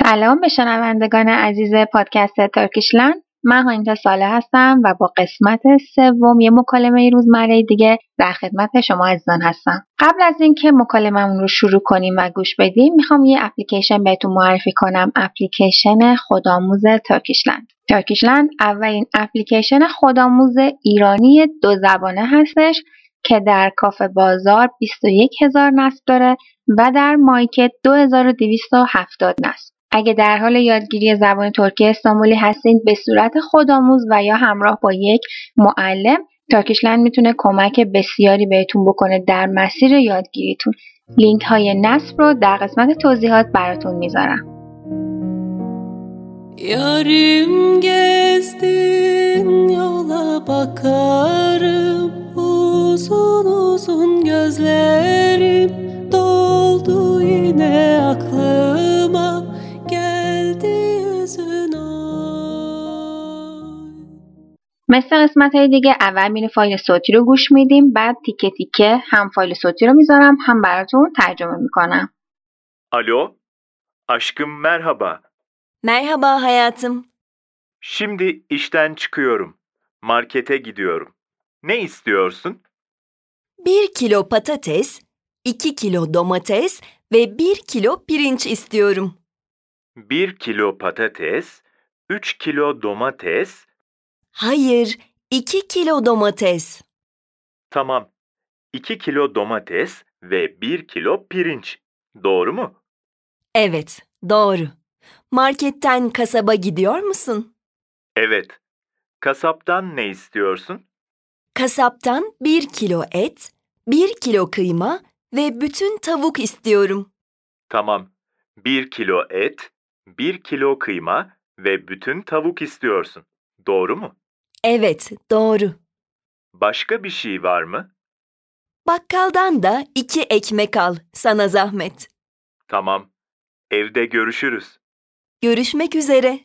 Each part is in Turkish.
سلام به شنوندگان عزیز پادکست ترکیشلند. من هانیتا صالح هستم و با قسمت سوم یه مکالمه روزمره دیگه در خدمت شما عزیزان هستم. قبل از اینکه مکالممون رو شروع کنیم و گوش بدیم میخوام یه اپلیکیشن بهتون معرفی کنم، اپلیکیشن خودآموز ترکیشلند. ترکیشلند اولین اپلیکیشن خودآموز ایرانی 2 زبانه هستش که در کافه بازار 21,000 نصب داره و در مایکت 2270 نصب. اگه در حال یادگیری زبان ترکی استانبولی هستین به صورت خودآموز و یا همراه با یک معلم، ترکیشلند میتونه کمک بسیاری بهتون بکنه در مسیر یادگیریتون. لینک های نصب رو در قسمت توضیحات براتون میذارم. Yarim gezdin yola bakarım, uzun uzun gözlerim doldu yine aklıma, geldi yüzün ay. مثل قسمت های دیگه اول میریم فایل صوتی رو گوش میدیم، بعد تیکه تیکه هم فایل صوتی رو میذارم هم براتون ترجمه میکنم. Alo, aşkım merhaba. Merhaba hayatım. Şimdi işten çıkıyorum. Markete gidiyorum. Ne istiyorsun? 1 kilo patates, 2 kilo domates ve 1 kilo pirinç istiyorum. 1 kilo patates, 3 kilo domates. Hayır, 2 kilo domates. Tamam. 2 kilo domates ve 1 kilo pirinç. Doğru mu? Evet, doğru. Marketten kasaba gidiyor musun? Evet. Kasaptan ne istiyorsun? Kasaptan 1 kilo et, 1 kilo kıyma ve bütün tavuk istiyorum. Tamam. 1 kilo et, 1 kilo kıyma ve bütün tavuk istiyorsun. Doğru mu? Evet, doğru. Başka bir şey var mı? Bakkaldan da 2 ekmek al, sana zahmet. Tamam. Evde görüşürüz. Görüşmek üzere.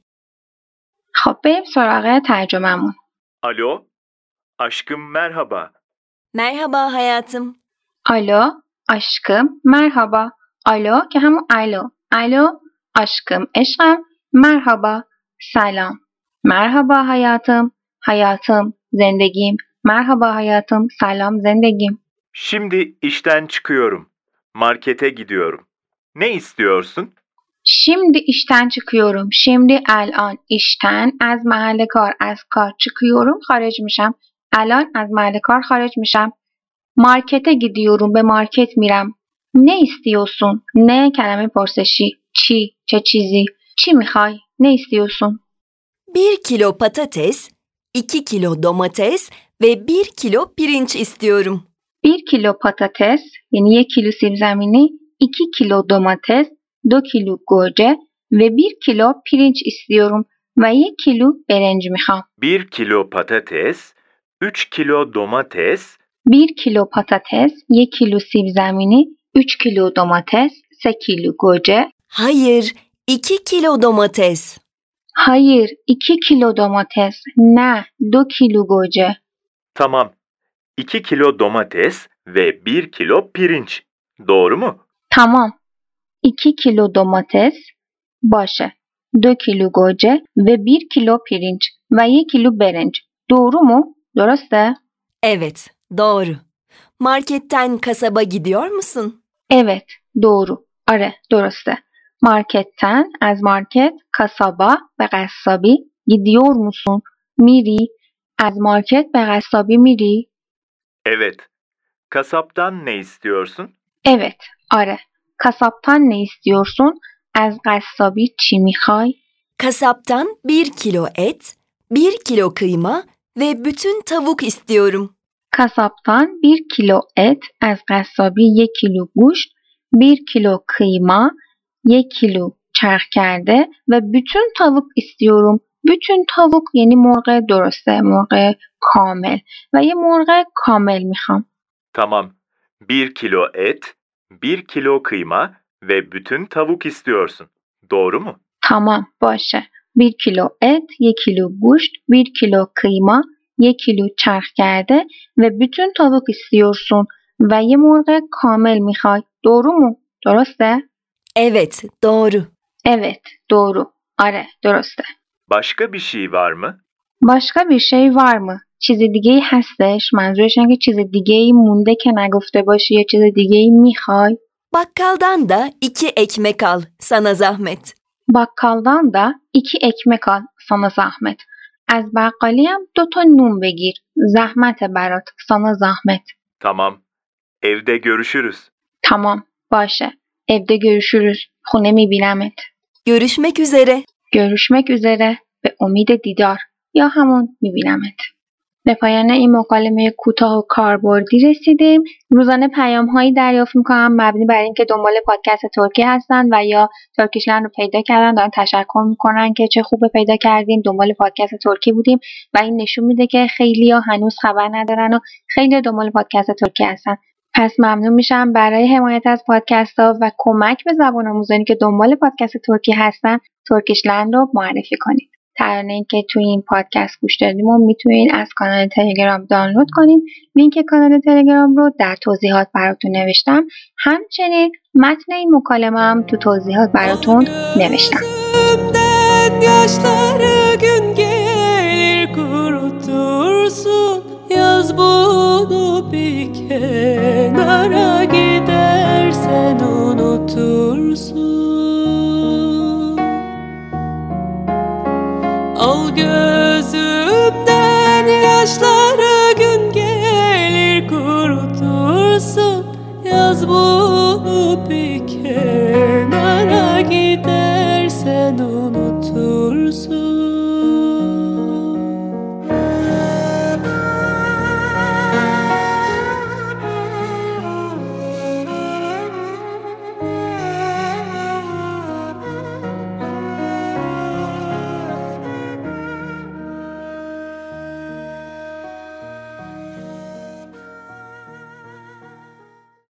خب بریم سراغ ترجمه‌مون. Alo, aşkım merhaba. Merhaba hayatım. آلو aşkım merhaba. آلو که همون الو. الو aşkım عشقم. مرحبا سلام. مرحبا hayatım. hayatım زندگیم. مرحبا hayatım. سلام زندگیم. Şimdi işten çıkıyorum. Markete gidiyorum. Ne istiyorsun? Şimdi işten çıkıyorum. Şimdi الان işten از محل کار از کار çıkıyorum خارج میشم. الان از محل کار خارج میشم. مارکته gidiyorum به مارکت میرم. Ne istiyorsun? Ne کلمه پرسشی. چی؟ چه چیزی؟ چی میخوای؟ Ne istiyorsun? 1 kilo patates, 2 kilo domates ve 1 kilo pirinç istiyorum. 1 kilo patates yani 1 kilo سیب زمینی، 2 kilo domates، 2 kilo گوجه ve 1 kilo pirinç istiyorum ve 1 kilo برنج میخوام. 1 kilo patates, 3 kilo domates. 1 kilo patates، 1 kilo سیب زمینی، 3 kilo domates، 3 kilo گوجه. Hayır, 2 kilo domates. Hayır, 2 kilo domates. Ne, 2 kilo گوجه. Tamam. 2 kilo domates ve 1 kilo pirinç. Doğru mu? Tamam. 2 kilo domates باشه. 2 kilo گوجه ve 1 kilo pirinç ve 1 kilo برنج. Doğru mu? درسته؟ Evet, doğru. Marketten kasaba gidiyor musun? Evet, doğru. آره، درسته. Marketten, از market، kasaba به قصابی، gidiyor musun؟ میری؟ از market به قصابی میری؟ Evet. Kasaptan ne istiyorsun? Evet, آره. Kasaptan ne istiyorsun? از قصابی چی میخوای؟ Kasaptan 1 kilo et, 1 kilo kıyma ve bütün tavuk istiyorum. Kasaptan 1 kilo et، از قصابی 1 کیلو گوشت، 1 کیلو kıyma، 1 کیلو چرخ کرده و bütün tavuk istiyorum. bütün tavuk یعنی مرغ درسته، مرغ کامل و یه مرغ کامل میخوام. Tamam. 1 kilo et, 1 kilo kıyma ve bütün tavuk istiyorsun. Doğru mu? tamam باشه. 1 کیلو et، 1 کیلو گوشت، 1 کیلو kıyma، 1 کیلو چرخ کرده و bütün tavuk istiyorsun و یه مرغ کامل میخوای. doğru mu? درسته؟ Evet, doğru. Evet, doğru. Are, درسته. Başka bir şey var mı? başka bir şey var mı? چیز دیگه‌ای هستش؟ منظورش اینه که چیز دیگه‌ای مونده که نگفته باشی یا چیز دیگه‌ای میخوای؟ Bakkaldan da 2 ekmek al, sana zahmet. bakkaldan da 2 ekmek al sana zahmet. از بقالی هم 2 تا نون بگیر. زحمت برات. sana zahmet. Tamam. Evde görüşürüz. tamam باشه. evde görüşürüz. خونه میبینمت. Görüşmek üzere. görüşmek üzere. به امید دیدار. یا همون میبینمت. به پایان این مکالمه کوتاه و کاربردی رسیدیم. روزانه پیام‌هایی دریافت می‌کنم مبنی بر اینکه دنبال پادکست ترکی هستن و یا ترکیشلند رو پیدا کردن، دارن تشکر می‌کنن که چه خوبه پیدا کردیم، دنبال پادکست ترکی بودیم و این نشون میده که خیلی‌ها هنوز خبر ندارن و خیلی دنبال پادکست ترکی هستن. پس ممنون میشم برای حمایت از پادکست‌ها و کمک به زبان آموزانی که دنبال پادکست ترکی هستن، ترکیشلند رو معرفی کنید. ترانه‌ای که توی این پادکست گوش دادیم و میتونید از کانال تلگرام دانلود کنید. لینک کانال تلگرام رو در توضیحات براتون növeştim. همچنین متن این مکالمه هم تو توضیحات براتون növeştim. Yaşları gün gelir kurutursun, yaz bunu bir kenara